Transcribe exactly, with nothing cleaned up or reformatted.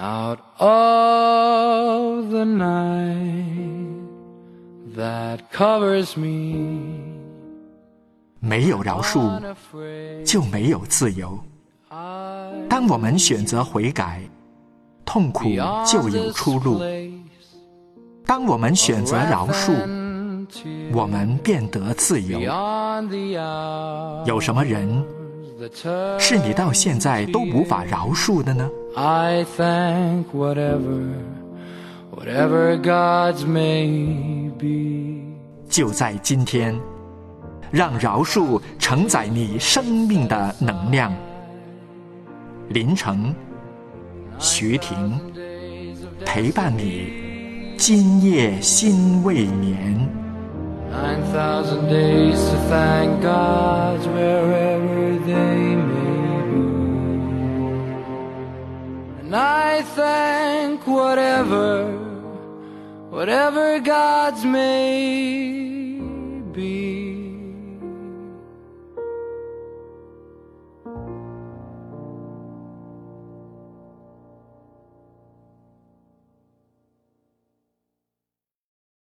Out of the night that covers me， 没有饶恕，就没有自由。当我们选择悔改，痛苦就有出路；当我们选择饶恕，我们便得自由。有什么人是你到现在都无法饶恕的呢？ I thank whatever, whatever God's may be。 就在今天，让饶恕承载你生命的能量。林成、徐婷陪伴你，今夜心未眠。 Nine thousand days to thank God wherever they may be. And I thank whatever, whatever God's may be.